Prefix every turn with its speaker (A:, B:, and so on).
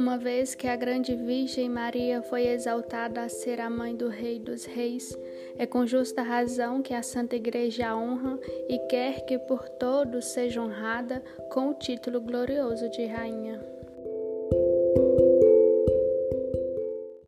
A: Uma vez que a grande Virgem Maria foi exaltada a ser a mãe do Rei dos Reis, é com justa razão que a Santa Igreja a honra e quer que por todos seja honrada com o título glorioso de Rainha.